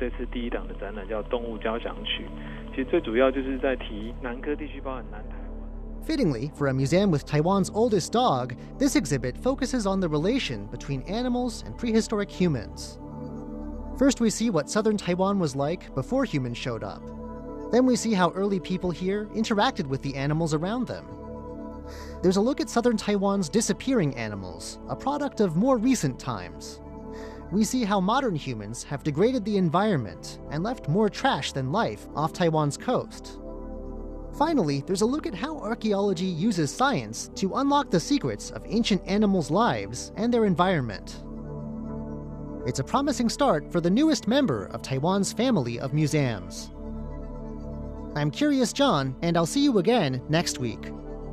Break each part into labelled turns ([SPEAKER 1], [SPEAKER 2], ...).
[SPEAKER 1] 这次第一档的展览叫动物交响曲，其实最主要就是在提南科地区，包含南台湾。
[SPEAKER 2] Fittingly, for a museum with Taiwan's oldest dog, this exhibit focuses on the relation between animals and prehistoric humans. First, we see what southern Taiwan was like before humans showed up. Then we see how early people here interacted with the animals around them. There's a look at southern Taiwan's disappearing animals, a product of more recent times. We see how modern humans have degraded the environment and left more trash than life off Taiwan's coast. Finally, there's a look at how archaeology uses science to unlock the secrets of ancient animals' lives and their environment. It's a promising start for the newest member of Taiwan's family of museums. I'm Curious John, and I'll see you again next week.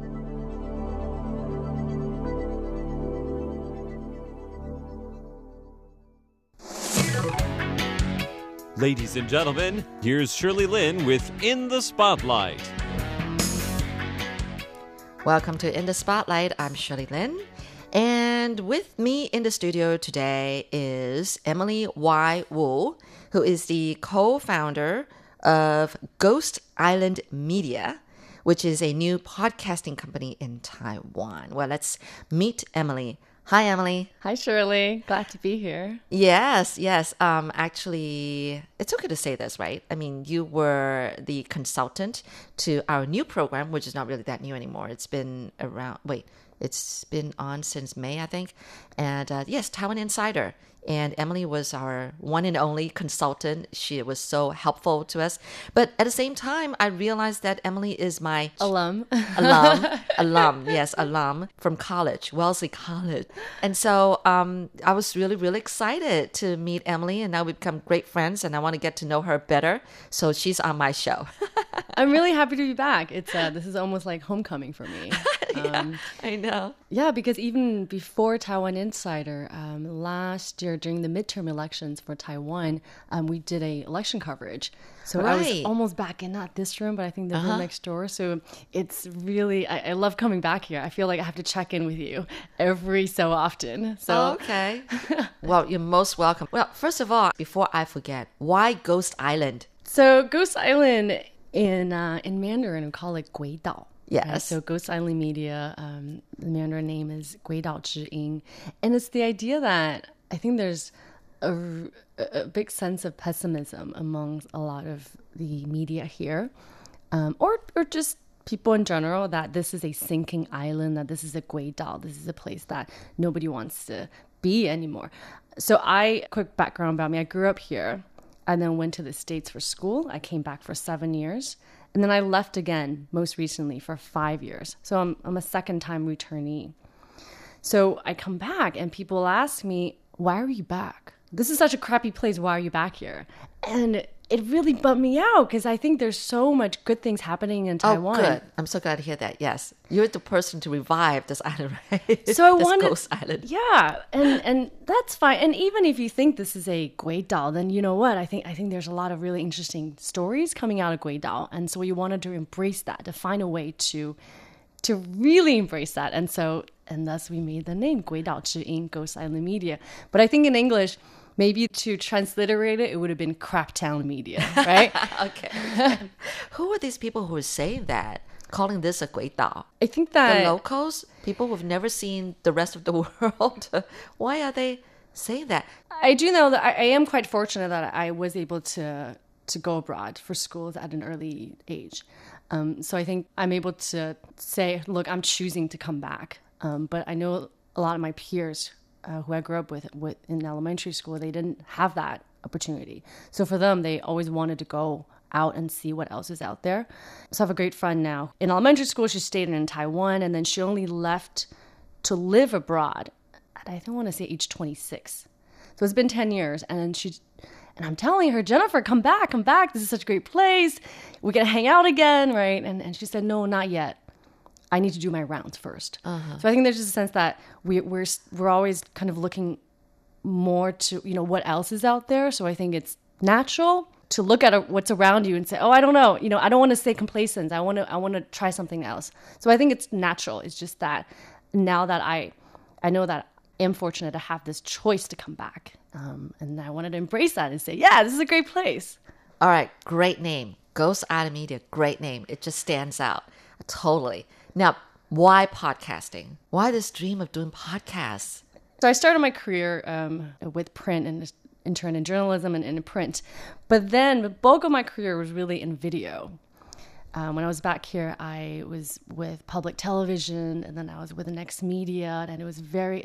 [SPEAKER 3] Ladies and gentlemen, here's Shirley Lin with In the Spotlight.
[SPEAKER 4] Welcome to In the Spotlight. I'm Shirley Lin. And with me in the studio today is Emily Y. Wu, who is the co-founder of Ghost Island Media, which is a new podcasting company in Taiwan. Well, let's meet Emily. Hi, Emily.
[SPEAKER 5] Hi, Shirley. Glad to be here.
[SPEAKER 4] Yes. Actually, it's okay to say this, right? I mean, you were the consultant to our new program, which is not really that new anymore. It's been on since May, I think. And yes, Taiwan Insider. And Emily was our one and only consultant. She was so helpful to us. But at the same time, I realized that Emily is my
[SPEAKER 5] alum
[SPEAKER 4] from college, Wellesley College. And so I was really, really excited to meet Emily. And now we've become great friends. And I want to get to know her better. So she's on my show.
[SPEAKER 5] I'm really happy to be back. It's this is almost like homecoming for me.
[SPEAKER 4] Yeah, I know.
[SPEAKER 5] Yeah, because even before Taiwan Insider, last year during the midterm elections for Taiwan, we did a election coverage. So I was almost back in not this room, but I think the room next door. So it's really, I love coming back here. I feel like I have to check in with you every so often. So
[SPEAKER 4] okay. Well, you're most welcome. Well, first of all, before I forget, why Ghost Island?
[SPEAKER 5] So Ghost Island in Mandarin, we call it 鬼岛.
[SPEAKER 4] Yes.
[SPEAKER 5] So Ghost Island Media, the Mandarin name is 鬼岛之音. And it's the idea that I think there's a big sense of pessimism among a lot of the media here, or just people in general, that this is a sinking island, that this is a 鬼岛, this is a place that nobody wants to be anymore. So quick background about me, I grew up here and then went to the States for school. I came back for 7 years. And then I left again, most recently, for 5 years. So I'm a second-time returnee. So I come back, and people ask me, why are you back? This is such a crappy place. Why are you back here? And it really bummed me out, because I think there's so much good things happening in Taiwan.
[SPEAKER 4] Oh, good. I'm so glad to hear that. Yes. You're the person to revive this island, right?
[SPEAKER 5] So I
[SPEAKER 4] wanted... Ghost Island.
[SPEAKER 5] Yeah. And that's fine. And even if you think this is a 鬼岛, then you know what? I think there's a lot of really interesting stories coming out of 鬼岛. And so we wanted to embrace that, to find a way to really embrace that. And thus we made the name 鬼岛之音, Ghost Island Media. But I think in English, maybe to transliterate it, it would have been Craptown Media, right?
[SPEAKER 4] Okay. Who are these people who are saying that, calling this a 鬼岛?
[SPEAKER 5] I think that...
[SPEAKER 4] The locals, people who've never seen the rest of the world, why are they saying that?
[SPEAKER 5] I do know that I am quite fortunate that I was able to go abroad for schools at an early age. So I think I'm able to say, look, I'm choosing to come back. But I know a lot of my peers who I grew up with in elementary school, they didn't have that opportunity. So for them, they always wanted to go out and see what else is out there. So I have a great friend now. In elementary school, she stayed in Taiwan, and then she only left to live abroad at, I don't want to say age 26. So it's been 10 years, and I'm telling her, Jennifer, come back. This is such a great place. We're going to hang out again, right? And she said, no, not yet. I need to do my rounds first. So I think there's just a sense that we're always kind of looking more to, what else is out there. So I think it's natural to look at what's around you and say, oh, I don't know. I don't want to stay complacent. I want to try something else. So I think it's natural. It's just that now that I know that I am fortunate to have this choice to come back, And I wanted to embrace that and say, yeah, this is a great place.
[SPEAKER 4] All right, great name. Ghost Island Media, great name. It just stands out. Totally. Now, why podcasting? Why this dream of doing podcasts?
[SPEAKER 5] So I started my career with print and intern in journalism and in print. But then the bulk of my career was really in video. When I was back here, I was with public television, and then I was with the Next Media, and it was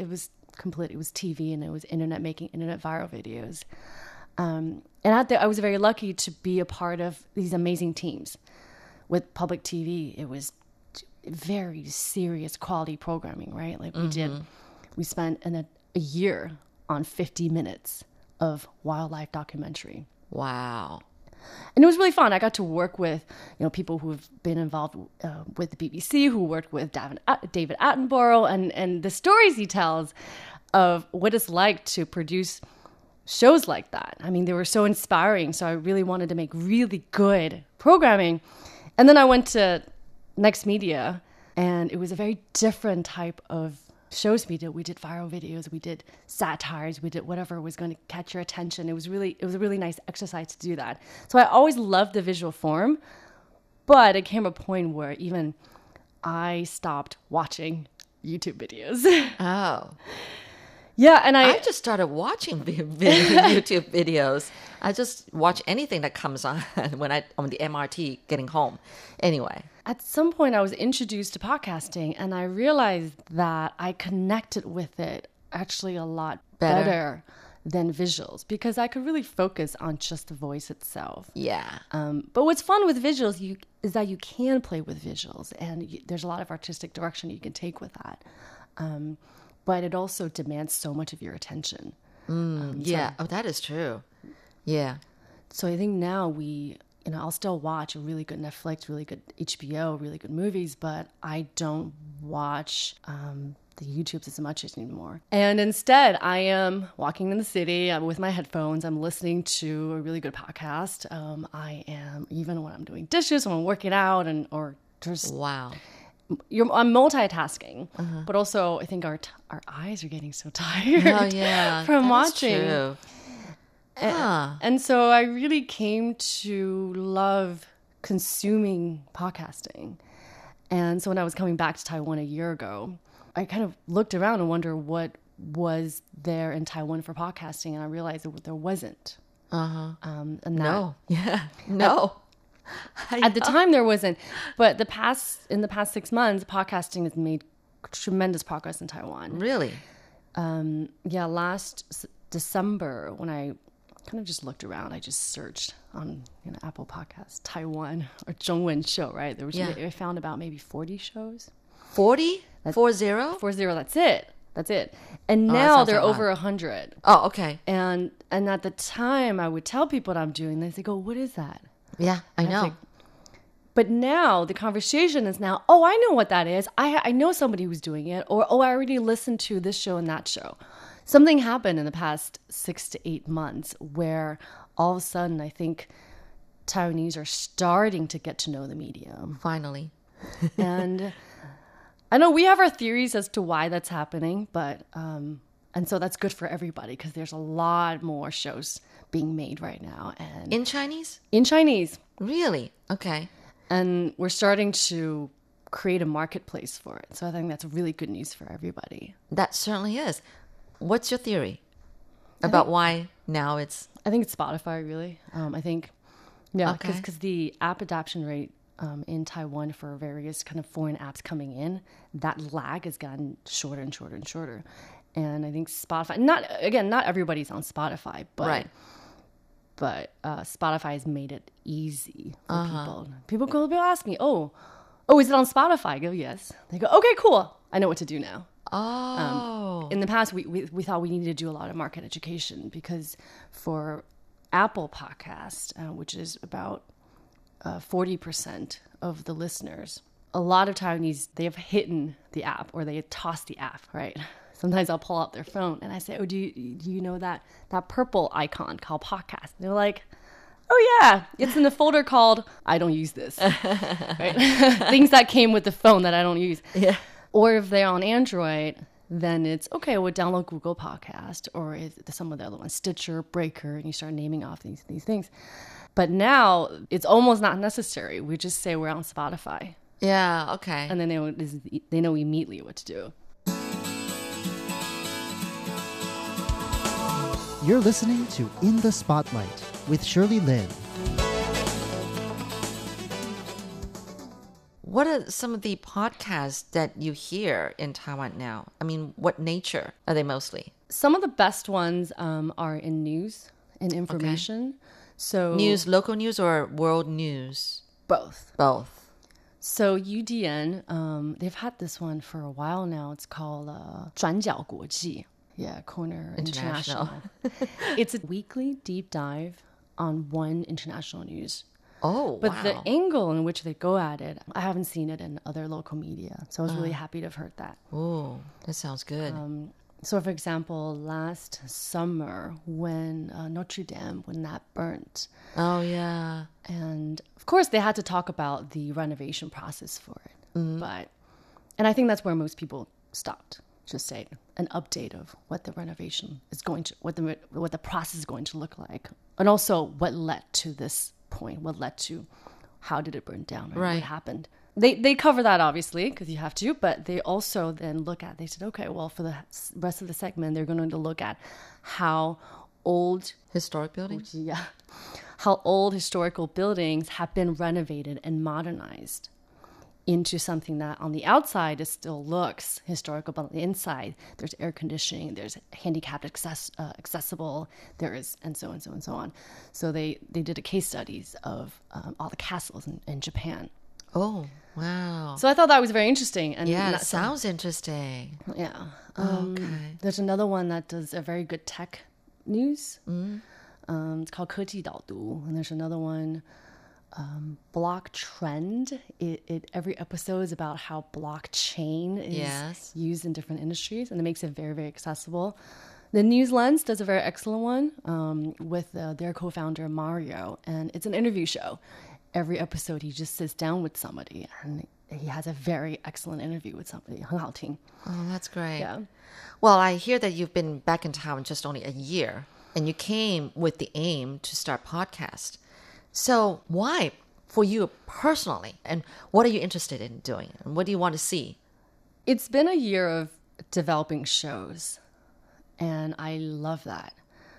[SPEAKER 5] TV, and it was making internet viral videos. And out there, I was very lucky to be a part of these amazing teams. With public TV, it was very serious quality programming, right? Like we spent a year on 50 minutes of wildlife documentary.
[SPEAKER 4] Wow.
[SPEAKER 5] And it was really fun. I got to work with, people who have been involved with the BBC, who worked with David Attenborough, and the stories he tells of what it's like to produce shows like that. I mean, they were so inspiring. So I really wanted to make really good programming. And then I went to Next Media, and it was a very different type of shows we did. We did viral videos, we did satires, we did whatever was going to catch your attention. It was a really nice exercise to do that. So I always loved the visual form, but it came a point where even I stopped watching YouTube videos.
[SPEAKER 4] Oh.
[SPEAKER 5] Yeah, and
[SPEAKER 4] I just started watching YouTube videos. I just watch anything that comes on when on the MRT getting home. Anyway.
[SPEAKER 5] At some point, I was introduced to podcasting, and I realized that I connected with it actually a lot better than visuals, because I could really focus on just the voice itself.
[SPEAKER 4] Yeah.
[SPEAKER 5] But what's fun with visuals is that you can play with visuals, and there's a lot of artistic direction you can take with that. But it also demands so much of your attention.
[SPEAKER 4] That is true. Yeah.
[SPEAKER 5] So I think now I'll still watch a really good Netflix, really good HBO, really good movies, but I don't watch the YouTubes as much anymore. And instead, I am walking in the city. I'm with my headphones. I'm listening to a really good podcast. I am, even when I'm doing dishes, when I'm working out, or just...
[SPEAKER 4] Wow.
[SPEAKER 5] I'm multitasking, but also I think our eyes are getting so tired from watching.
[SPEAKER 4] True.
[SPEAKER 5] And so I really came to love consuming podcasting. And so when I was coming back to Taiwan a year ago, I kind of looked around and wondered what was there in Taiwan for podcasting, and I realized that there wasn't.
[SPEAKER 4] No.
[SPEAKER 5] At the time, there wasn't. But in the past 6 months, podcasting has made tremendous progress in Taiwan.
[SPEAKER 4] Really?
[SPEAKER 5] Last December, when I kind of just looked around, I just searched on Apple Podcasts, Taiwan or Zhongwen show, right? I found about maybe 40 shows.
[SPEAKER 4] 40? 40?
[SPEAKER 5] 40, that's it. And now they're over 100.
[SPEAKER 4] Oh, okay.
[SPEAKER 5] And at the time, I would tell people what I'm doing. They go, what is that?
[SPEAKER 4] Yeah, I know.
[SPEAKER 5] But now the conversation is now, oh, I know what that is. I know somebody who's doing it. Or, oh, I already listened to this show and that show. Something happened in the past 6 to 8 months where all of a sudden I think Taiwanese are starting to get to know the medium.
[SPEAKER 4] Finally.
[SPEAKER 5] And I know we have our theories as to why that's happening, but and so that's good for everybody because there's a lot more shows being made right now. And
[SPEAKER 4] in Chinese?
[SPEAKER 5] In Chinese.
[SPEAKER 4] Really? Okay.
[SPEAKER 5] And we're starting to create a marketplace for it. So I think that's really good news for everybody.
[SPEAKER 4] That certainly is. What's your theory about why now it's...
[SPEAKER 5] I think it's Spotify, really. I think, because
[SPEAKER 4] Okay.
[SPEAKER 5] the app adoption rate in Taiwan for various kind of foreign apps coming in, that lag has gotten shorter and shorter and shorter. And I think Spotify, not everybody's on Spotify, but
[SPEAKER 4] Right.
[SPEAKER 5] but Spotify has made it easy for people. People ask me, oh, is it on Spotify? I go, yes. They go, okay, cool. I know what to do now.
[SPEAKER 4] Oh.
[SPEAKER 5] In the past, we thought we needed to do a lot of market education because for Apple Podcast, which is about 40% of the listeners, a lot of Taiwanese, they have hidden the app or they have tossed the app, right? Sometimes I'll pull out their phone and I say, oh, do you know that purple icon called podcast? And they're like, oh, yeah, it's in the folder called I don't use this. Right? Things that came with the phone that I don't use.
[SPEAKER 4] Yeah.
[SPEAKER 5] Or if they're on Android, then it's okay, we'll download Google Podcast or some of the other ones, Stitcher, Breaker, and you start naming off these things. But now it's almost not necessary. We just say we're on Spotify.
[SPEAKER 4] Yeah, okay.
[SPEAKER 5] And then they know immediately what to do.
[SPEAKER 2] You're listening to In the Spotlight with Shirley Lin.
[SPEAKER 4] What are some of the podcasts that you hear in Taiwan now? I mean, what nature are they mostly?
[SPEAKER 5] Some of the best ones are in news and information.
[SPEAKER 4] Okay.
[SPEAKER 5] So
[SPEAKER 4] News, local news or world news?
[SPEAKER 5] both.
[SPEAKER 4] Both.
[SPEAKER 5] So UDN, they've had this one for a while now. It's called 转角国际. Yeah, Corner International. It's a weekly deep dive on one international news.
[SPEAKER 4] Oh,
[SPEAKER 5] But
[SPEAKER 4] wow.
[SPEAKER 5] the angle in which they go at it, I haven't seen it in other local media. So I was really happy to have heard that.
[SPEAKER 4] Oh, that sounds good.
[SPEAKER 5] So, for example, last summer when Notre Dame, when that burnt,
[SPEAKER 4] Oh, yeah.
[SPEAKER 5] and of course they had to talk about the renovation process for it. And I think that's where most people stopped. Just say an update of what the renovation is going to, what the process is going to look like, and also what led to this point, what led to, how did it burn down,
[SPEAKER 4] Right.
[SPEAKER 5] what happened. They cover that obviously because you have to, but they also then they said, okay, well for the rest of the segment they're going to look at how old
[SPEAKER 4] Historic buildings?
[SPEAKER 5] how old historical buildings have been renovated and modernized into something that on the outside it still looks historical, but on the inside there's air conditioning, there's handicapped accessible, there is and so on, so on, so on. So they did a case studies of all the castles in Japan.
[SPEAKER 4] Oh, wow.
[SPEAKER 5] So I thought that was very interesting. And
[SPEAKER 4] Yeah, it
[SPEAKER 5] that
[SPEAKER 4] sounds interesting.
[SPEAKER 5] Yeah.
[SPEAKER 4] Okay.
[SPEAKER 5] There's another one that does a very good tech news. It's called 科技导读. And there's another one, Block Trend. Every episode is about how blockchain is
[SPEAKER 4] Yes.
[SPEAKER 5] used in different industries, and it makes it very, very accessible. The News Lens does a very excellent one with their co-founder Mario, and it's an interview show. Every episode, he just sits down with somebody, and he has a very excellent interview with somebody. 很好听.
[SPEAKER 4] Oh, that's great.
[SPEAKER 5] Yeah.
[SPEAKER 4] Well, I hear that you've been back in town just only a year, and you came with the aim to start podcast. So why for you personally? And what are you interested in doing? And what do you want to see?
[SPEAKER 5] It's been a year of developing shows, and I love that.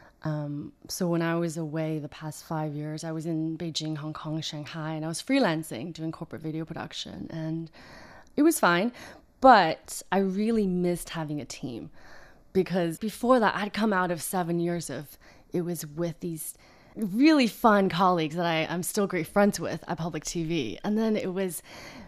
[SPEAKER 5] So when I was away the past 5 years, I was in Beijing, Hong Kong, Shanghai, and I was freelancing, doing corporate video production, and it was fine. But I really missed having a team because before that, I'd come out of 7 years of it was with these really fun colleagues that I'm still great friends with at Public TV. And then it was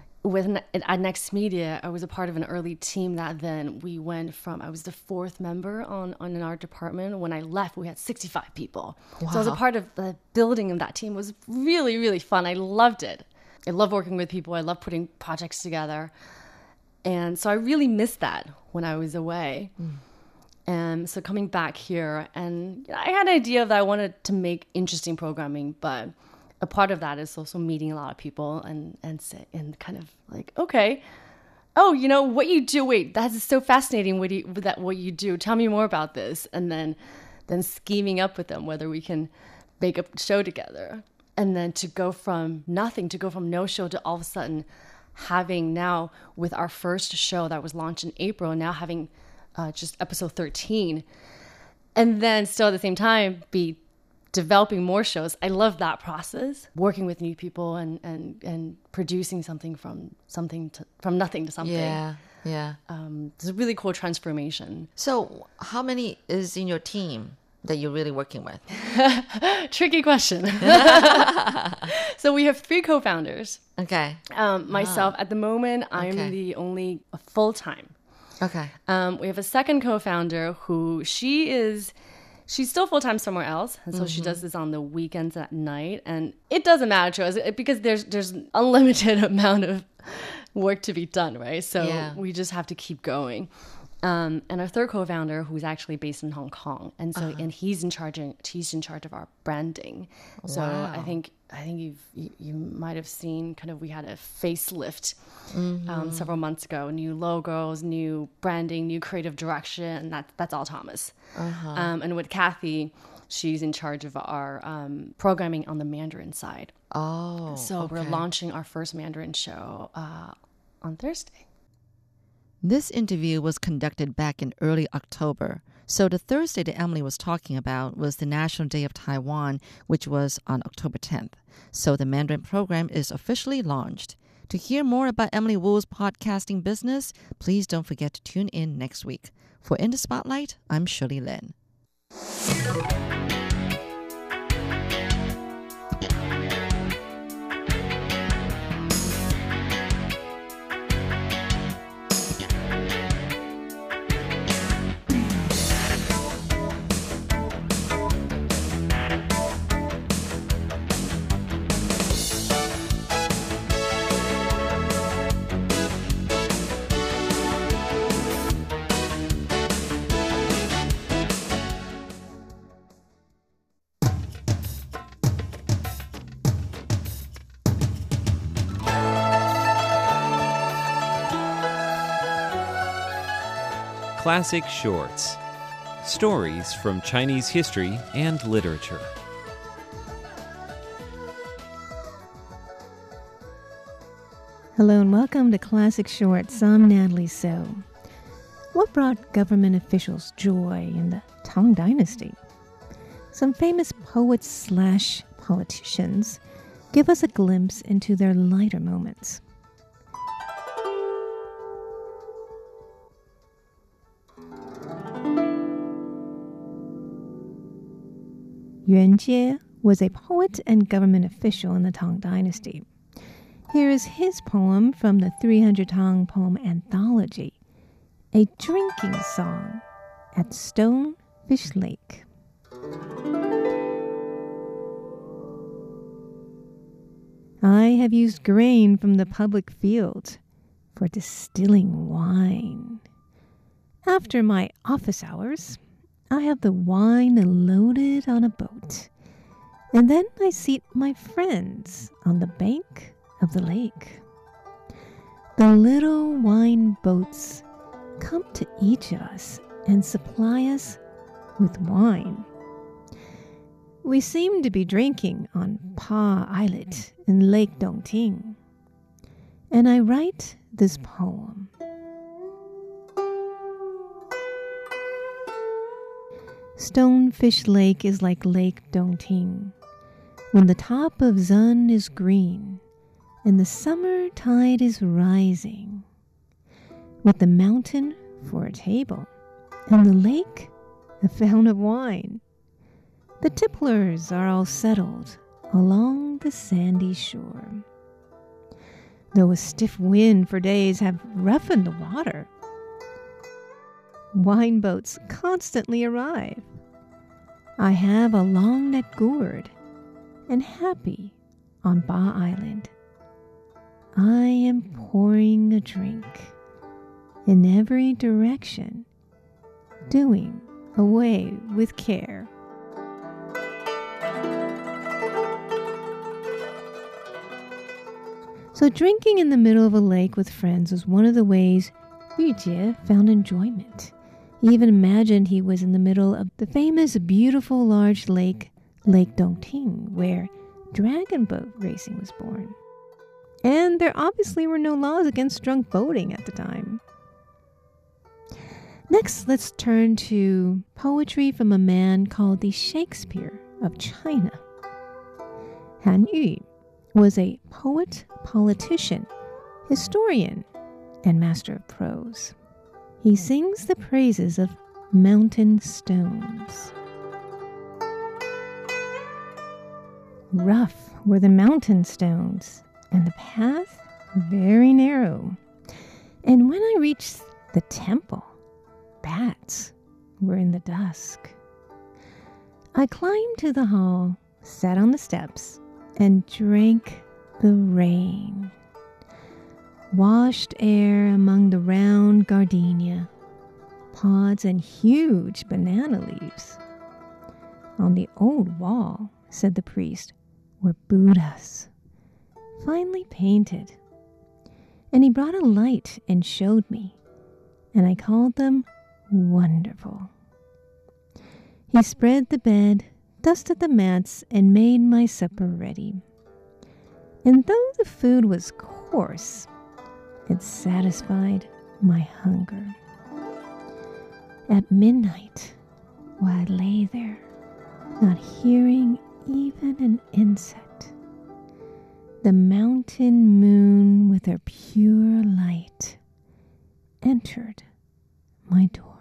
[SPEAKER 5] at Next Media, I was a part of an early team that then we went from, I was the fourth member on in our department. When I left, we had 65 people.
[SPEAKER 4] Wow.
[SPEAKER 5] So I was a part of the building of that team. It was really, really fun. I loved it. I love working with people. I love putting projects together. And so I really missed that when I was away. And so coming back here, and I had an idea that I wanted to make interesting programming, but a part of that is also meeting a lot of people and kind of like, okay, oh, you know what you do. Wait, that's so fascinating. What you do? Tell me more about this. And then scheming up with them whether we can make a show together. And then to go from nothing, to go from no show to all of a sudden having now with our first show that was launched in April, now having just episode 13, and then still at the same time be developing more shows. I love that process, working with new people and producing something from nothing to something.
[SPEAKER 4] Yeah.
[SPEAKER 5] It's a really cool transformation.
[SPEAKER 4] So how many is in your team that you're really working with?
[SPEAKER 5] Tricky question. So we have 3 co-founders.
[SPEAKER 4] Okay.
[SPEAKER 5] Myself, at the moment, I'm
[SPEAKER 4] Okay.
[SPEAKER 5] the only full-time.
[SPEAKER 4] Okay.
[SPEAKER 5] We have a second co-founder who she's still full-time somewhere else. And so she does this on the weekends at night. And it doesn't matter to us because there's unlimited amount of work to be done, right? So
[SPEAKER 4] Yeah.
[SPEAKER 5] we just have to keep going. And our third co-founder, who's actually based in Hong Kong, and so and he's in charge of our branding. So I think you might have seen kind of we had a facelift several months ago, new logos, new branding, new creative direction, and that's all Thomas. And with Kathy, she's in charge of our programming on the Mandarin side. So we're launching our first Mandarin show on Thursday.
[SPEAKER 4] This interview was conducted back in early October. So the Thursday that Emily was talking about was the National Day of Taiwan, which was on October 10th. So the Mandarin program is officially launched. To hear more about Emily Wu's podcasting business, please don't forget to tune in next week. For In the Spotlight, I'm Shirley Lin.
[SPEAKER 3] Classic Shorts. Stories from Chinese history and literature.
[SPEAKER 6] Hello and welcome to Classic Shorts. I'm Natalie So. What brought government officials joy in the Tang Dynasty? Some famous poets/politicians give us a glimpse into their lighter moments. Yuan Jie was a poet and government official in the Tang Dynasty. Here is his poem from the 300 Tang Poem Anthology, A Drinking Song at Stonefish Lake. I have used grain from the public field for distilling wine. After my office hours, I have the wine loaded on a boat, and then I seat my friends on the bank of the lake. The little wine boats come to each of us and supply us with wine. We seem to be drinking on Pa Islet in Lake Dongting, and I write this poem. Stonefish Lake is like Lake Dongting, when the top of Zun is green and the summer tide is rising, with the mountain for a table and the lake a fount of wine. The tipplers are all settled along the sandy shore. Though a stiff wind for days have roughened the water, wine boats constantly arrive. I have a long net gourd and happy on Ba Island. I am pouring a drink in every direction, doing away with care. So drinking in the middle of a lake with friends was one of the ways Yu Jie found enjoyment. He even imagined he was in the middle of the famous beautiful large lake, Lake Dongting, where dragon boat racing was born. And there obviously were no laws against drunk boating at the time. Next, let's turn to poetry from a man called the Shakespeare of China. Han Yu was a poet, politician, historian, and master of prose. He sings the praises of mountain stones. Rough were the mountain stones, and the path very narrow. And when I reached the temple, bats were in the dusk. I climbed to the hall, sat on the steps, and drank the rain. Washed air among the round gardenia, pods and huge banana leaves. On the old wall, said the priest, were Buddhas, finely painted. And he brought a light and showed me, and I called them wonderful. He spread the bed, dusted the mats, and made my supper ready. And though the food was coarse, it satisfied my hunger. At midnight, while I lay there, not hearing even an insect, the mountain moon with her pure light entered my door.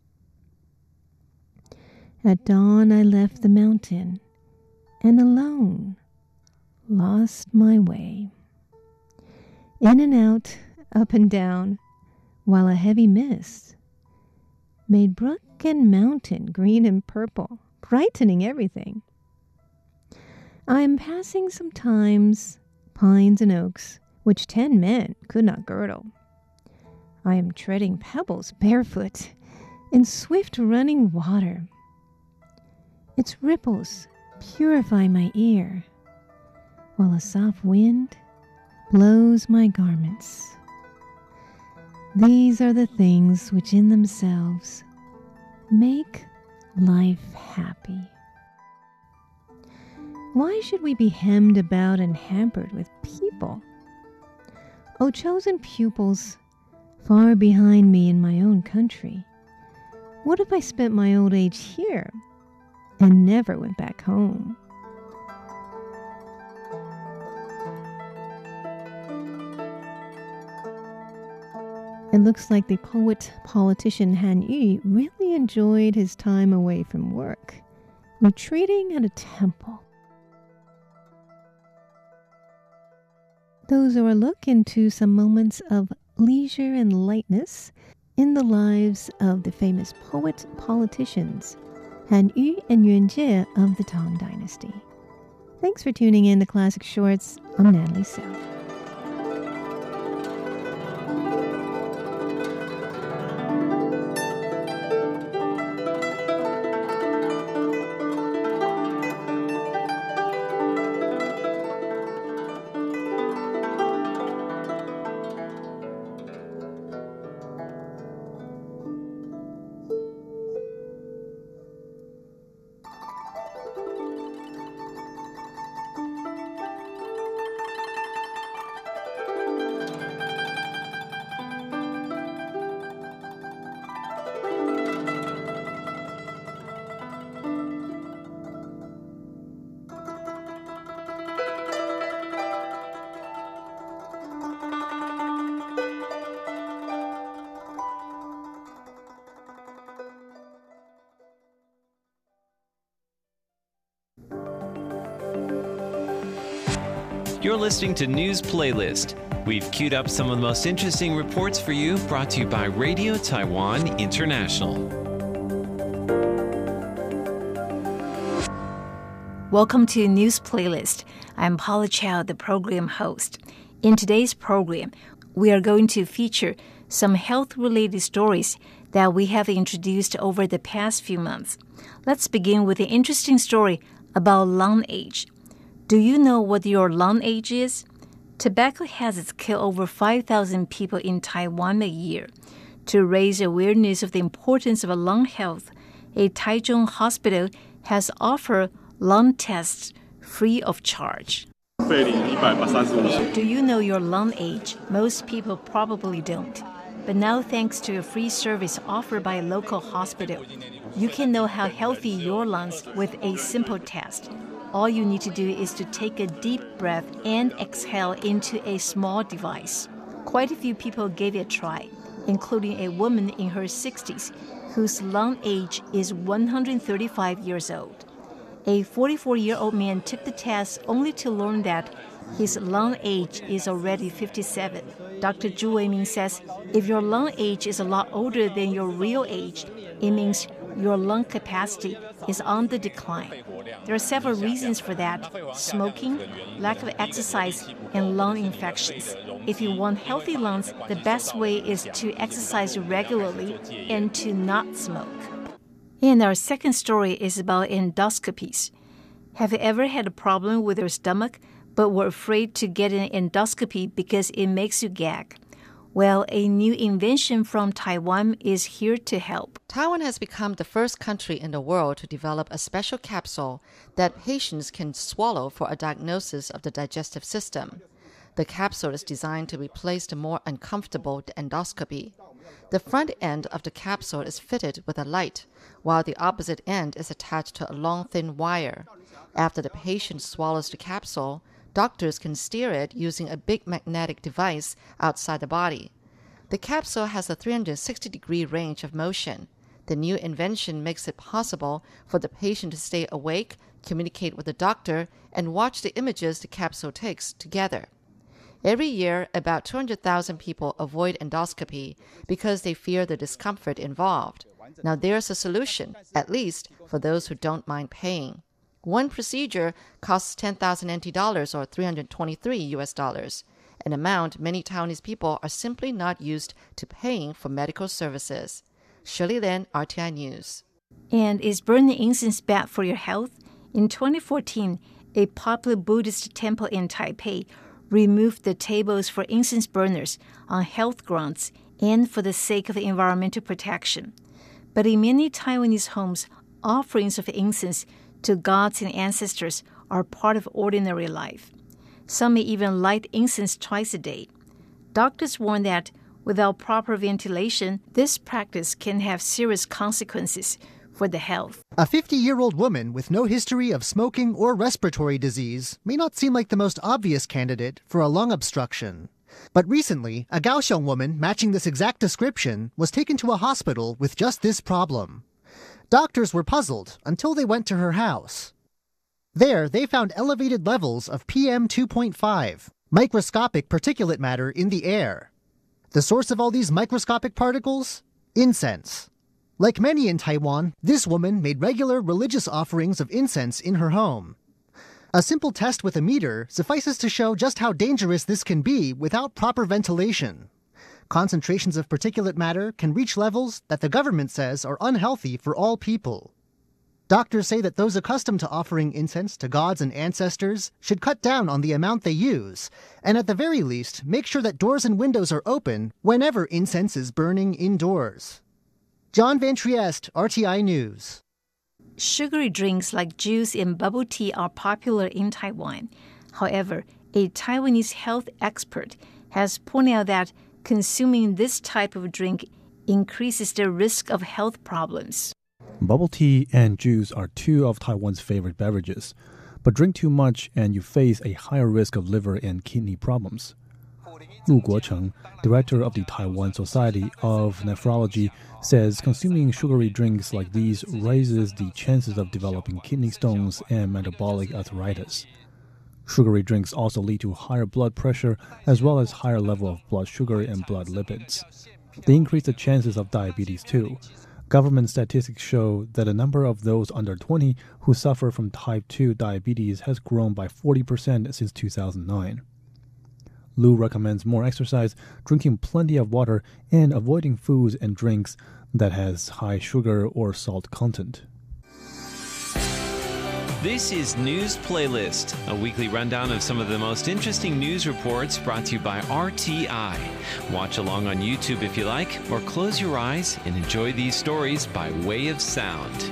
[SPEAKER 6] At dawn I left the mountain and alone lost my way. In and out, up and down, while a heavy mist made brook and mountain green and purple, brightening everything. I am passing sometimes pines and oaks, which 10 men could not girdle. I am treading pebbles barefoot in swift running water. Its ripples purify my ear, while a soft wind blows my garments. These are the things which in themselves make life happy. Why should we be hemmed about and hampered with people? O chosen pupils, far behind me in my own country, what if I spent my old age here and never went back home? It looks like the poet-politician Han Yu really enjoyed his time away from work, retreating at a temple. Those are a look into some moments of leisure and lightness in the lives of the famous poet-politicians Han Yu and Yuan Jie of the Tang Dynasty. Thanks for tuning in to Classic Shorts. I'm Natalie South.
[SPEAKER 3] You're listening to News Playlist. We've queued up some of the most interesting reports for you, brought to you by Radio Taiwan International.
[SPEAKER 7] Welcome to News Playlist. I'm Paula Chow, the program host. In today's program, we are going to feature some health-related stories that we have introduced over the past few months. Let's begin with an interesting story about lung age. Do you know what your lung age is? Tobacco hazards kill over 5,000 people in Taiwan a year. To raise awareness of the importance of lung health, a Taichung hospital has offered lung tests free of charge. Do you know your lung age? Most people probably don't. But now, thanks to a free service offered by a local hospital, you can know how healthy your lungs with a simple test. All you need to do is to take a deep breath and exhale into a small device. Quite a few people gave it a try, including a woman in her 60s whose lung age is 135 years old. A 44-year-old man took the test only to learn that his lung age is already 57. Dr. Zhu Weiming says if your lung age is a lot older than your real age, it means your lung capacity is on the decline. There are several reasons for that: smoking, lack of exercise, and lung infections. If you want healthy lungs, the best way is to exercise regularly and to not smoke. And our second story is about endoscopies. Have you ever had a problem with your stomach but were afraid to get an endoscopy because it makes you gag? Well, a new invention from Taiwan is here to help.
[SPEAKER 4] Taiwan has become the first country in the world to develop a special capsule that patients can swallow for a diagnosis of the digestive system. The capsule is designed to replace the more uncomfortable endoscopy. The front end of the capsule is fitted with a light, while the opposite end is attached to a long, thin wire. After the patient swallows the capsule, doctors can steer it using a big magnetic device outside the body. The capsule has a 360-degree range of motion. The new invention makes it possible for the patient to stay awake, communicate with the doctor, and watch the images the capsule takes together. Every year, about 200,000 people avoid endoscopy because they fear the discomfort involved. Now there's a solution, at least for those who don't mind paying. One procedure costs 10,000 NT dollars or $323, an amount many Taiwanese people are simply not used to paying for medical services. Shirley Lin, RTI News.
[SPEAKER 7] And is burning incense bad for your health? In 2014, a popular Buddhist temple in Taipei removed the tables for incense burners on health grounds and for the sake of environmental protection. But in many Taiwanese homes, offerings of incense to gods and ancestors are part of ordinary life. Some may even light incense twice a day. Doctors warn that without proper ventilation, this practice can have serious consequences for the health.
[SPEAKER 2] A 50-year-old woman with no history of smoking or respiratory disease may not seem like the most obvious candidate for a lung obstruction. But recently, a Kaohsiung woman matching this exact description was taken to a hospital with just this problem. Doctors were puzzled until they went to her house. There, they found elevated levels of PM2.5, microscopic particulate matter in the air. The source of all these microscopic particles? Incense. Like many in Taiwan, this woman made regular religious offerings of incense in her home. A simple test with a meter suffices to show just how dangerous this can be without proper ventilation. Concentrations of particulate matter can reach levels that the government says are unhealthy for all people. Doctors say that those accustomed to offering incense to gods and ancestors should cut down on the amount they use, and at the very least, make sure that doors and windows are open whenever incense is burning indoors. John Van Trieste, RTI News.
[SPEAKER 7] Sugary drinks like juice and bubble tea are popular in Taiwan. However, a Taiwanese health expert has pointed out that consuming this type of drink increases the risk of health problems.
[SPEAKER 8] Bubble tea and juice are two of Taiwan's favorite beverages, but drink too much and you face a higher risk of liver and kidney problems. Lu Guocheng, director of the Taiwan Society of Nephrology, says consuming sugary drinks like these raises the chances of developing kidney stones and metabolic arthritis. Sugary drinks also lead to higher blood pressure as well as higher level of blood sugar and blood lipids. They increase the chances of diabetes too. Government statistics show that the number of those under 20 who suffer from type 2 diabetes has grown by 40% since 2009. Lu recommends more exercise, drinking plenty of water, and avoiding foods and drinks that has high sugar or salt content.
[SPEAKER 3] This is News Playlist, a weekly rundown of some of the most interesting news reports brought to you by RTI. Watch along on YouTube if you like, or close your eyes and enjoy these stories by way of sound.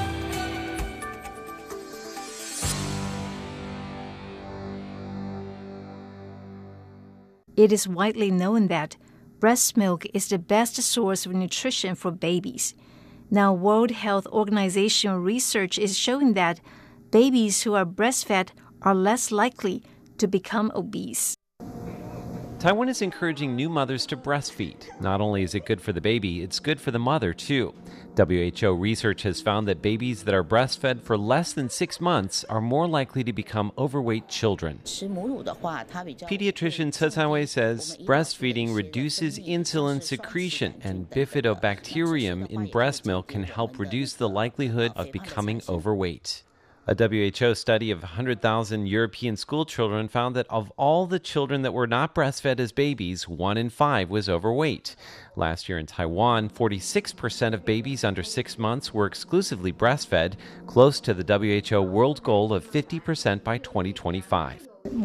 [SPEAKER 7] It is widely known that breast milk is the best source of nutrition for babies. Now, World Health Organization research is showing that babies who are breastfed are less likely to become obese.
[SPEAKER 3] Taiwan is encouraging new mothers to breastfeed. Not only is it good for the baby, it's good for the mother, too. WHO research has found that babies that are breastfed for less than 6 months are more likely to become overweight children. Pediatrician Ce Canwei says breastfeeding reduces insulin secretion, and bifidobacterium in breast milk can help reduce the likelihood of becoming overweight. A WHO study of 100,000 European school children found that of all the children that were not breastfed as babies, 1 in 5 was overweight. Last year in Taiwan, 46% of babies under 6 months were exclusively breastfed, close to the WHO world goal of 50% by 2025.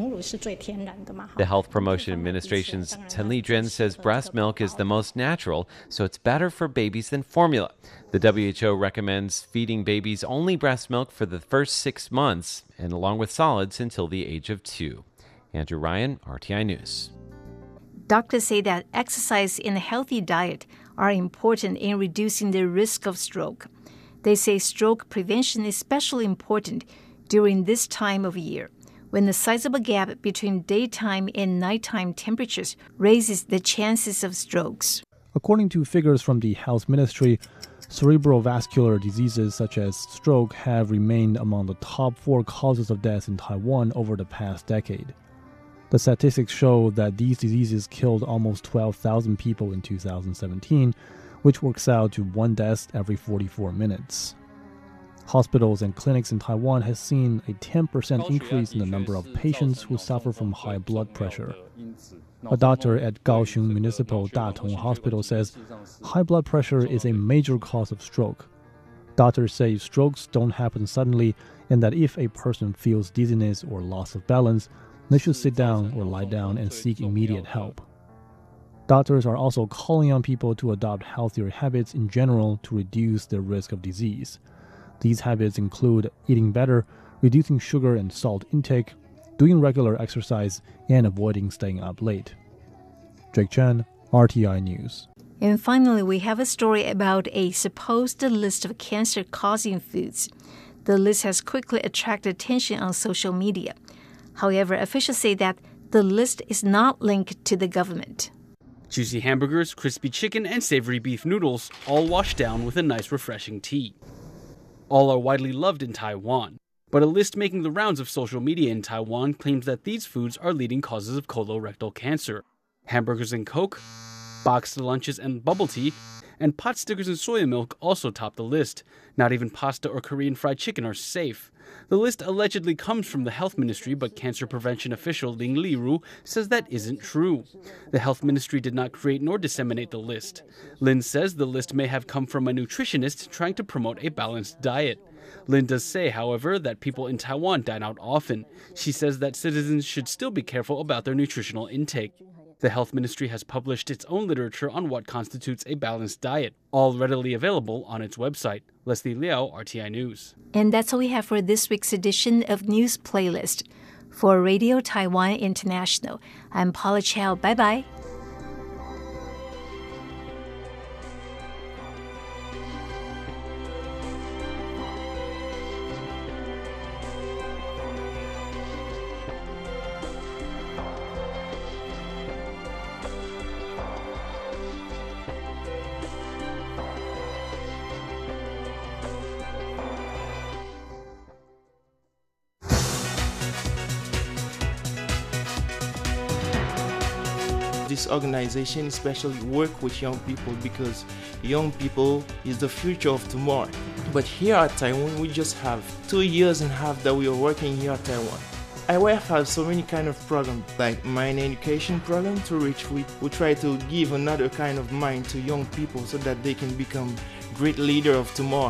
[SPEAKER 3] The Health Promotion Administration's Chen Lijuan says breast milk is the most natural, so it's better for babies than formula. The WHO recommends feeding babies only breast milk for the first 6 months, and along with solids until the age of 2. Andrew Ryan, RTI News.
[SPEAKER 7] Doctors say that exercise and a healthy diet are important in reducing the risk of stroke. They say stroke prevention is especially important during this time of year, when the sizable gap between daytime and nighttime temperatures raises the chances of strokes.
[SPEAKER 8] According to figures from the Health Ministry, cerebrovascular diseases such as stroke have remained among the top 4 causes of death in Taiwan over the past decade. The statistics show that these diseases killed almost 12,000 people in 2017, which works out to 1 death every 44 minutes. Hospitals and clinics in Taiwan have seen a 10% increase in the number of patients who suffer from high blood pressure. A doctor at Kaohsiung Municipal Datong Hospital says high blood pressure is a major cause of stroke. Doctors say strokes don't happen suddenly, and that if a person feels dizziness or loss of balance, they should sit down or lie down and seek immediate help. Doctors are also calling on people to adopt healthier habits in general to reduce their risk of disease. These habits include eating better, reducing sugar and salt intake, doing regular exercise, and avoiding staying up late. Jake Chen, RTI News.
[SPEAKER 7] And finally, we have a story about a supposed list of cancer-causing foods. The list has quickly attracted attention on social media. However, officials say that the list is not linked to the government.
[SPEAKER 9] Juicy hamburgers, crispy chicken, and savory beef noodles, all washed down with a nice refreshing tea. All are widely loved in Taiwan, but a list making the rounds of social media in Taiwan claims that these foods are leading causes of colorectal cancer. Hamburgers and Coke, boxed lunches and bubble tea, and pot stickers and soya milk also top the list. Not even pasta or Korean fried chicken are safe. The list allegedly comes from the Health Ministry, but cancer prevention official Ling Liru says that isn't true. The Health Ministry did not create nor disseminate the list. Lin says the list may have come from a nutritionist trying to promote a balanced diet. Lin does say, however, that people in Taiwan dine out often. She says that citizens should still be careful about their nutritional intake. The Health Ministry has published its own literature on what constitutes a balanced diet, all readily available on its website. Leslie Liao, RTI News.
[SPEAKER 7] And that's all we have for this week's edition of News Playlist. For Radio Taiwan International, I'm Paula Chow. Bye-bye.
[SPEAKER 10] This organization especially work with young people because young people is the future of tomorrow. But here at Taiwan, we just have 2 years and a half that we are working here at Taiwan. IYF has so many kind of programs, like Mind Education program, to which we try to give another kind of mind to young people so that they can become great leader of tomorrow.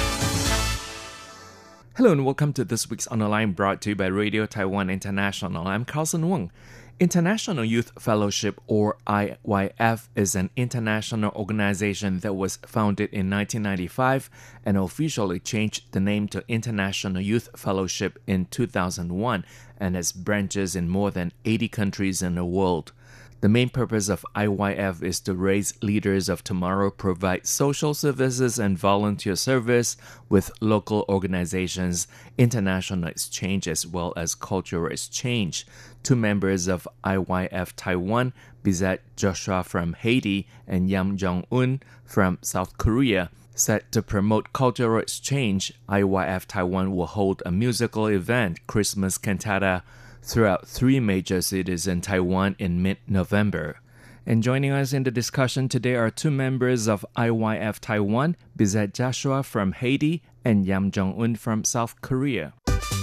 [SPEAKER 11] Hello and welcome to this week's On the Line, brought to you by Radio Taiwan International. I'm Carlson Wong. International Youth Fellowship, or IYF, is an international organization that was founded in 1995 and officially changed the name to International Youth Fellowship in 2001 and has branches in more than 80 countries in the world. The main purpose of IYF is to raise leaders of tomorrow, provide social services and volunteer service with local organizations, international exchange, as well as cultural exchange. 2 members of IYF Taiwan, Bizet Joshua from Haiti and Yam Jong-un from South Korea, said to promote cultural exchange, IYF Taiwan will hold a musical event, Christmas Cantata, throughout 3 major cities in Taiwan in mid-November. And joining us in the discussion today are 2 members of IYF Taiwan, Bizet Joshua from Haiti and Yam Jong-un from South Korea.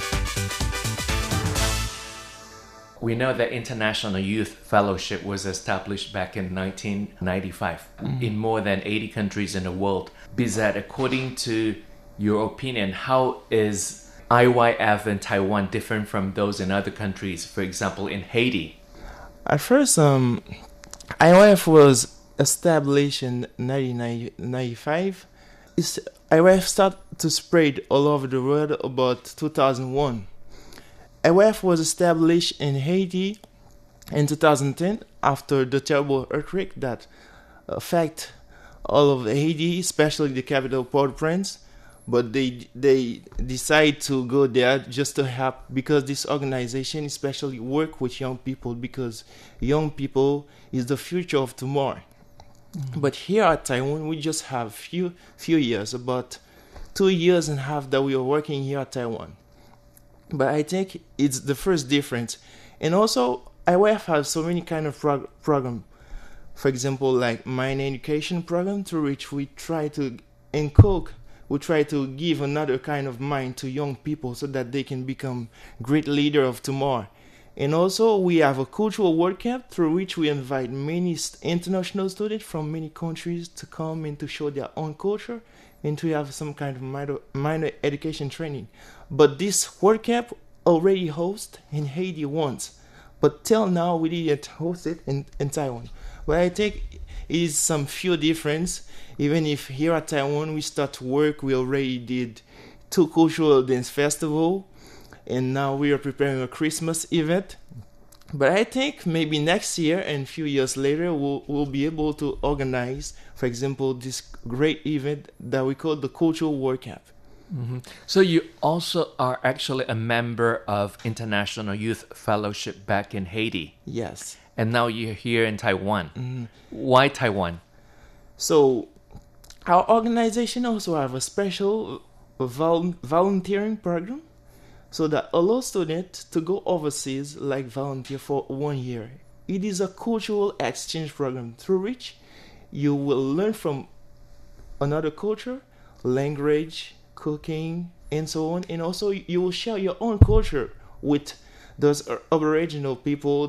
[SPEAKER 11] We know that International Youth Fellowship was established back in 1995 in more than 80 countries in the world. Bizet, according to your opinion, how is IYF in Taiwan different from those in other countries, for example, in Haiti?
[SPEAKER 10] At first, IYF was established in 1995. IYF started to spread all over the world about 2001. IYF was established in Haiti in 2010 after the terrible earthquake that affected all of Haiti, especially the capital Port-au-Prince. But they decide to go there just to help, because this organization especially work with young people, because young people is the future of tomorrow. But here at Taiwan, we just have few years, about 2 years and a half that we are working here at Taiwan. But I think it's the first difference. And also, IYF has so many kind of program. For example, like Mind Education program, through which we try to we try to give another kind of mind to young people so that they can become great leader of tomorrow. And also we have a cultural World Cup through which we invite many international students from many countries to come and to show their own culture and to have some kind of minor education training. But this World Cup already hosted in Haiti once, but till now we didn't host it in Taiwan. But I think it is some few difference. Even if here at Taiwan we start to work, we already did 2 cultural dance festival, and now we are preparing a Christmas event. But I think maybe next year and a few years later we'll be able to organize, for example, this great event that we call the Cultural World Cup.
[SPEAKER 11] Mm-hmm. So you also are actually a member of International Youth Fellowship back in Haiti.
[SPEAKER 10] Yes.
[SPEAKER 11] And now you're here in Taiwan. Mm-hmm. Why Taiwan?
[SPEAKER 10] So our organization also have a special volunteering program, so that allows students to go overseas, like volunteer for 1 year. It is a cultural exchange program through which you will learn from another culture, language, cooking, and so on. And also you will share your own culture with those Aboriginal people,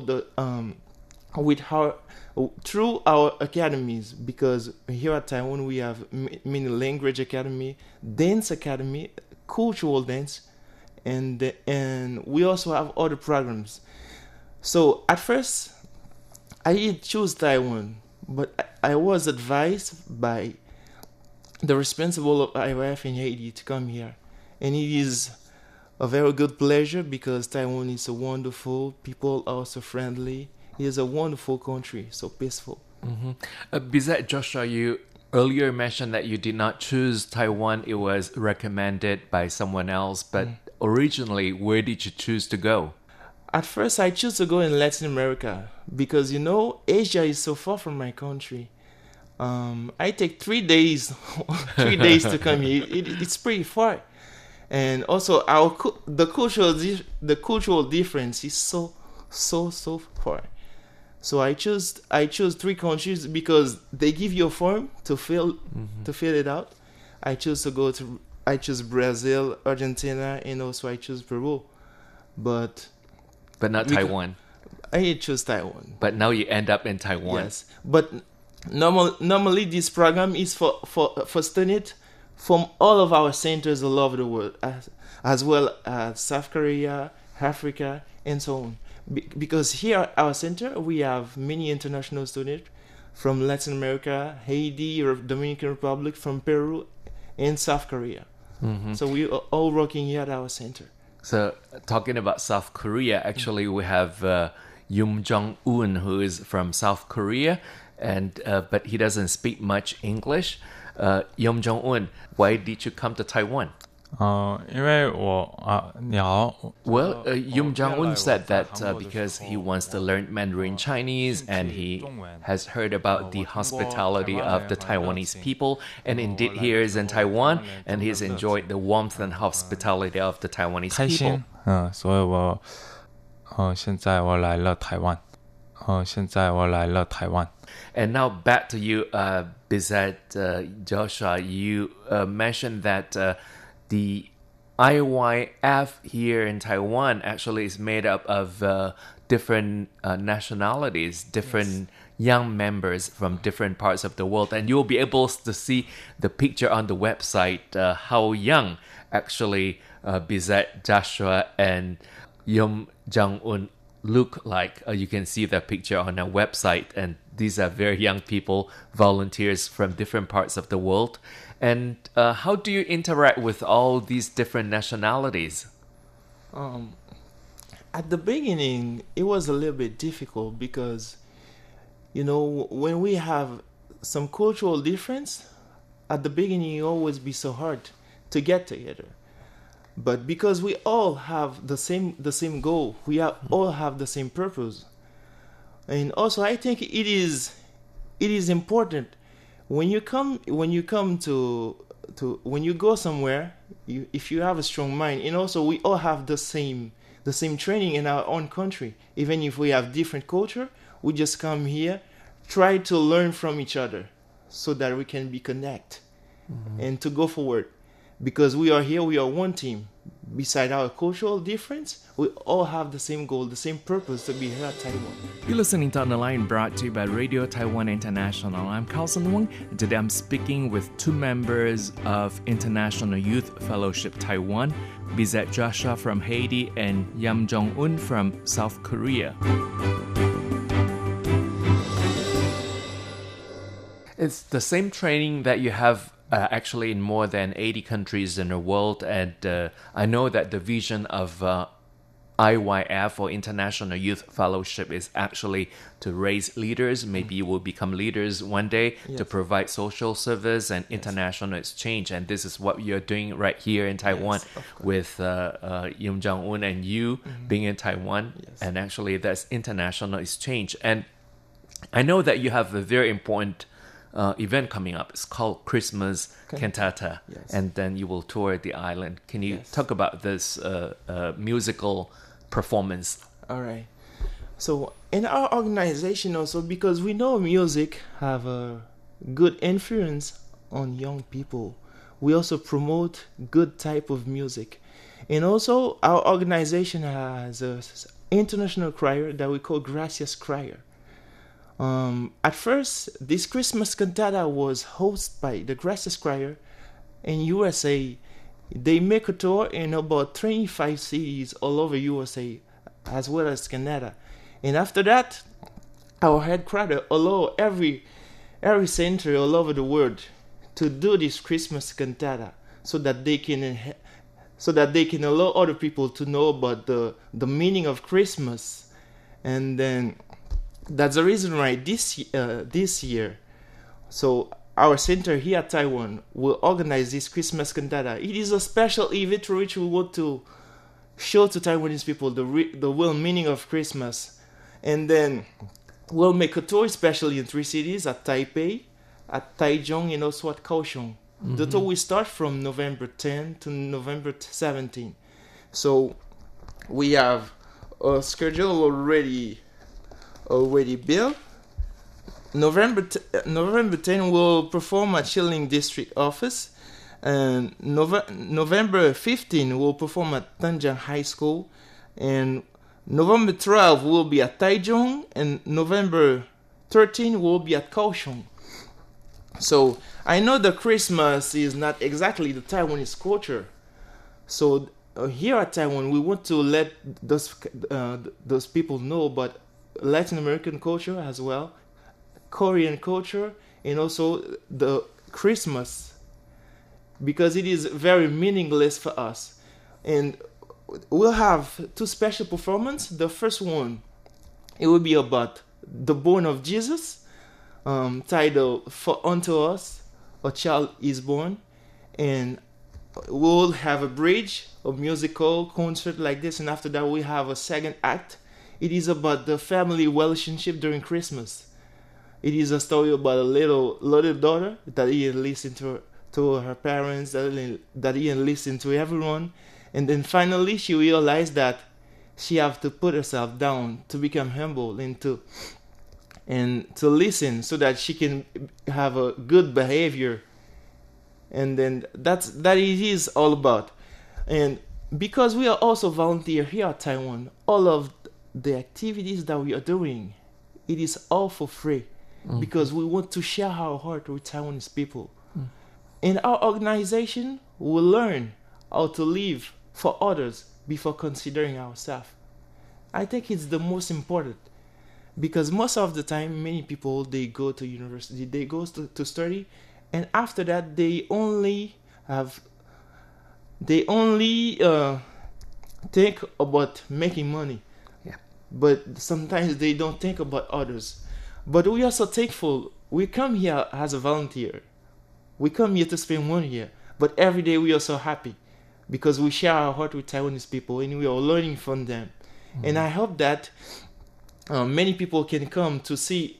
[SPEAKER 10] through our academies, because here at Taiwan we have many language academy, dance academy, cultural dance, and we also have other programs. So at first I didn't choose Taiwan, but I was advised by the responsible of IYF in Haiti to come here, and it is a very good pleasure because Taiwan is so wonderful, people are so friendly. It is a wonderful country, so peaceful.
[SPEAKER 11] Mm-hmm. Bizet Joshua, you earlier mentioned that you did not choose Taiwan. It was recommended by someone else. But originally, where did you choose to go?
[SPEAKER 10] At first, I chose to go in Latin America because, Asia is so far from my country. I take 3 days, 3 days to come here. It's pretty far. And also, the cultural difference is so far. So I chose 3 countries because they give you a form to fill it out. I chose Brazil, Argentina, and also I chose Peru. But
[SPEAKER 11] not Taiwan.
[SPEAKER 10] I chose Taiwan.
[SPEAKER 11] But now you end up in Taiwan.
[SPEAKER 10] Yes. But normally this program is for students from all of our centers all over the world, as well as South Korea, Africa, and so on. Because here at our center, we have many international students from Latin America, Haiti, Dominican Republic, from Peru, and South Korea. Mm-hmm. So we are all working here at our center.
[SPEAKER 11] So talking about South Korea, actually we have Yoon Jong-un, who is from South Korea, and but he doesn't speak much English. Yoon Jong-un, why did you come to Taiwan?
[SPEAKER 12] 因为你好
[SPEAKER 11] Well, Yoon Jong-un said that because he wants to learn Mandarin Chinese and he has heard about the hospitality of the Taiwanese people, and indeed he is in Taiwan and he's enjoyed the warmth and hospitality of the Taiwanese
[SPEAKER 12] 开
[SPEAKER 11] people.
[SPEAKER 12] 心所以我现在我来了台湾
[SPEAKER 11] And now back to you, Bizet, Joshua. You mentioned that the IYF here in Taiwan actually is made up of different nationalities, different young members from different parts of the world. And you'll be able to see the picture on the website, how young actually Bizet, Joshua, and Yoon Jong-un look like. You can see the picture on our website, and these are very young people, volunteers from different parts of the world. And how do you interact with all these different nationalities?
[SPEAKER 10] At the beginning, it was a little bit difficult because, when we have some cultural difference, at the beginning, it always be so hard to get together. But because we all have the same goal, all have the same purpose, and also I think it is important when you go somewhere, if you have a strong mind, and also we all have the same training in our own country. Even if we have different culture, we just come here, try to learn from each other, so that we can be connect and to go forward. Because we are here, we are one team. Beside our cultural difference, we all have the same goal, the same purpose to be here at Taiwan.
[SPEAKER 11] You're listening to On the Line, brought to you by Radio Taiwan International. I'm Carlson Wong, and today I'm speaking with two members of International Youth Fellowship Taiwan, Bizet Joshua from Haiti and Yoon Jong-un from South Korea. It's the same training that you have actually in more than 80 countries in the world, and I know that the vision of IYF, or International Youth Fellowship, is actually to raise leaders. Maybe you will become leaders one day, to provide social service and international exchange, and this is what you're doing right here in Taiwan with Yoon Jong-un and you being in Taiwan, and actually that's international exchange. And I know that you have a very important event coming up. It's called Christmas Cantata, and then you will tour the island. Can you talk about this musical performance?
[SPEAKER 10] All right. So in our organization also, because we know music have a good influence on young people, we also promote good type of music. And also our organization has an international choir that we call Gracias Choir. At first, this Christmas cantata was hosted by the Gracias Choir in USA. They make a tour in about 25 cities all over USA, as well as Canada. And after that, our headquarters allow every center all over the world to do this Christmas cantata, so that they can allow other people to know about the meaning of Christmas. And then that's the reason why this year, so our center here at Taiwan will organize this Christmas cantata. It is a special event for which we want to show to Taiwanese people the real meaning of Christmas. And then we'll make a tour, especially in 3 cities, at Taipei, at Taichung, and also at Kaohsiung. The tour will start from November 10 to November 17. So we have a schedule already built. November 10 we'll perform at Shilin District Office, and November 15 we'll perform at Tanjang High School, and November 12 we'll be at Taichung, and November 13 we'll be at Kaohsiung. So I know that Christmas is not exactly the Taiwanese culture, so here at Taiwan we want to let those people know about Latin American culture as well, Korean culture, and also the Christmas, because it is very meaningless for us. And we'll have 2 special performances. The first one it will be about the born of Jesus, titled "For Unto Us a Child is Born," and we'll have a bridge, a musical concert like this, and after that we have a second act. It is about the family relationship during Christmas. It is a story about a little daughter that didn't listen to her parents, that didn't listen to everyone, and then finally she realized that she have to put herself down to become humble and to listen so that she can have a good behavior. And then that it is all about. And because we are also volunteer here at Taiwan, all of the activities that we are doing, it is all for free, because we want to share our heart with Taiwanese people. In our organization, we learn how to live for others before considering ourselves. I think it's the most important, because most of the time, many people, they go to university, they go to study, and after that, they only think about making money. But sometimes they don't think about others. But we are so thankful. We come here as a volunteer. We come here to spend 1 year. But every day we are so happy because we share our heart with Taiwanese people and we are learning from them. And I hope that many people can come to see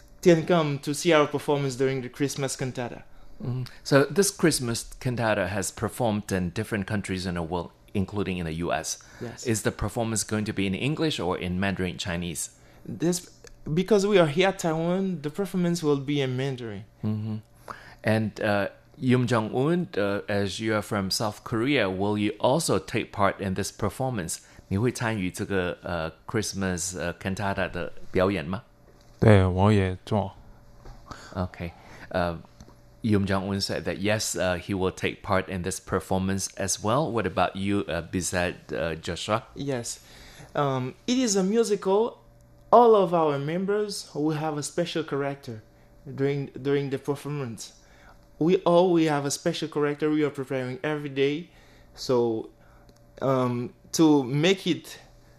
[SPEAKER 10] our performance during the Christmas cantata.
[SPEAKER 11] So this Christmas cantata has performed in different countries in the world, including in the U.S.
[SPEAKER 10] Yes.
[SPEAKER 11] Is the performance going to be in English or in Mandarin Chinese?
[SPEAKER 10] Because we are here at Taiwan, the performance will be in Mandarin.
[SPEAKER 11] And Yum Jong-un, as you are from South Korea, will you also take part in this performance? 你会参与这个Christmas cantata 的表演吗？
[SPEAKER 12] 对，我也做。
[SPEAKER 11] Okay. Yum Jong-un said that yes, he will take part in this performance as well. What about you, Bizet Joshua?
[SPEAKER 10] Yes. It is a musical. All of our members will have a special character during the performance. We have a special character we are preparing every day. So to make it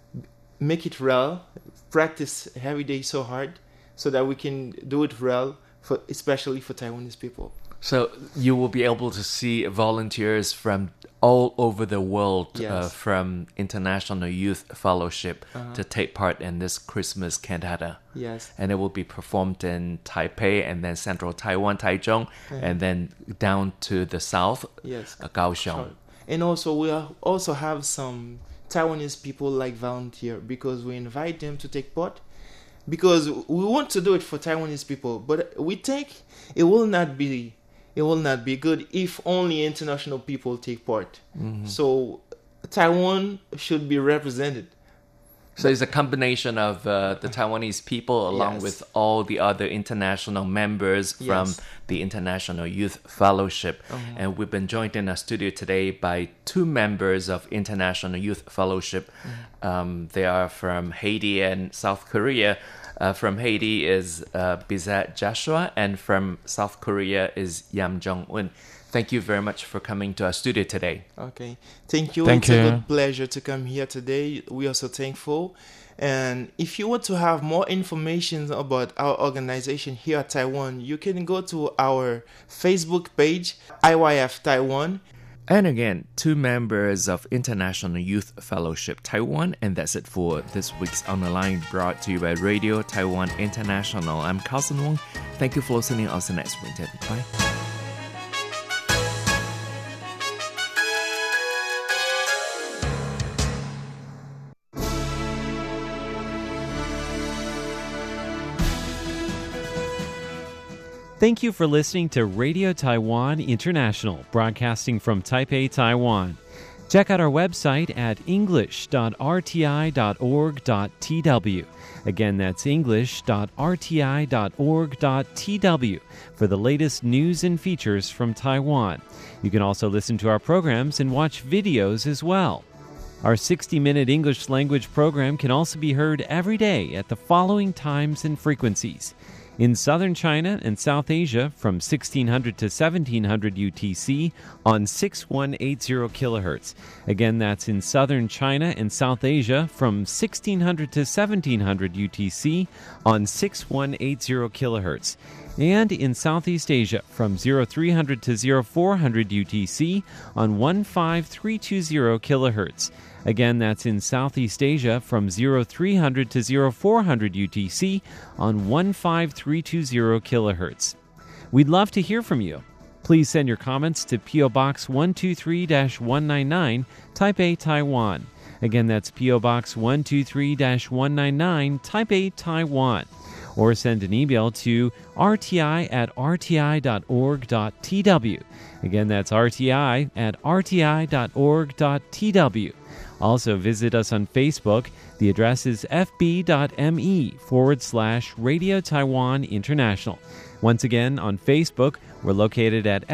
[SPEAKER 10] real, practice every day so hard so that we can do it real, especially for Taiwanese people.
[SPEAKER 11] So you will be able to see volunteers from all over the world,
[SPEAKER 10] Yes.
[SPEAKER 11] from International Youth Fellowship to take part in this Christmas cantata.
[SPEAKER 10] Yes.
[SPEAKER 11] And it will be performed in Taipei and then Central Taiwan, Taichung, and then down to the south,
[SPEAKER 10] Yes.
[SPEAKER 11] Kaohsiung.
[SPEAKER 10] And also we also have some Taiwanese people like volunteer because we invite them to take part. Because we want to do it for Taiwanese people, but we think it will not be good if only international people take part. So Taiwan should be represented.
[SPEAKER 11] So it's a combination of the Taiwanese people along
[SPEAKER 10] Yes.
[SPEAKER 11] with all the other international members from
[SPEAKER 10] Yes.
[SPEAKER 11] the International Youth Fellowship. And we've been joined in our studio today by two members of International Youth Fellowship. They are from Haiti and South Korea. From Haiti is Bizet Joshua, and from South Korea is Yum Jong-un. Thank you very much for coming to our studio today.
[SPEAKER 10] Okay. Thank you.
[SPEAKER 12] Thank
[SPEAKER 10] It's a
[SPEAKER 12] you.
[SPEAKER 10] good pleasure to come here today. We are so thankful. And if you want to have more information about our organization here at Taiwan, you can go to our Facebook page, IYF Taiwan.
[SPEAKER 11] And again, two members of International Youth Fellowship Taiwan. And that's it for this week's On the Line, brought to you by Radio Taiwan International. I'm Carlson Wong. Thank you for listening. I'll see you next week. Bye.
[SPEAKER 3] Thank you for listening to Radio Taiwan International, broadcasting from Taipei, Taiwan. Check out our website at english.rti.org.tw. Again, that's english.rti.org.tw for the latest news and features from Taiwan. You can also listen to our programs and watch videos as well. Our 60-minute English language program can also be heard every day at the following times and frequencies: In southern China and South Asia from 1600 to 1700 UTC on 6180 kHz. Again, that's in southern China and South Asia from 1600 to 1700 UTC on 6180 kHz. And in Southeast Asia from 0300 to 0400 UTC on 15320 kHz. Again, that's in Southeast Asia from 0300 to 0400 UTC on 15320 kHz. We'd love to hear from you. Please send your comments to P.O. Box 123-199, Taipei, Taiwan. Again, that's P.O. Box 123-199, Taipei, Taiwan. Or send an email to rti@rti.org.tw. Again, that's rti@rti.org.tw. Also, visit us on Facebook. The address is fb.me/Radio Taiwan International. Once again, on Facebook, we're located at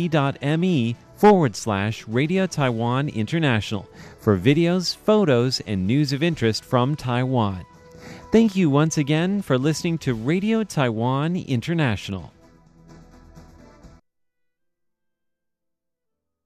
[SPEAKER 3] fb.me/Radio Taiwan International for videos, photos, and news of interest from Taiwan. Thank you once again for listening to Radio Taiwan International.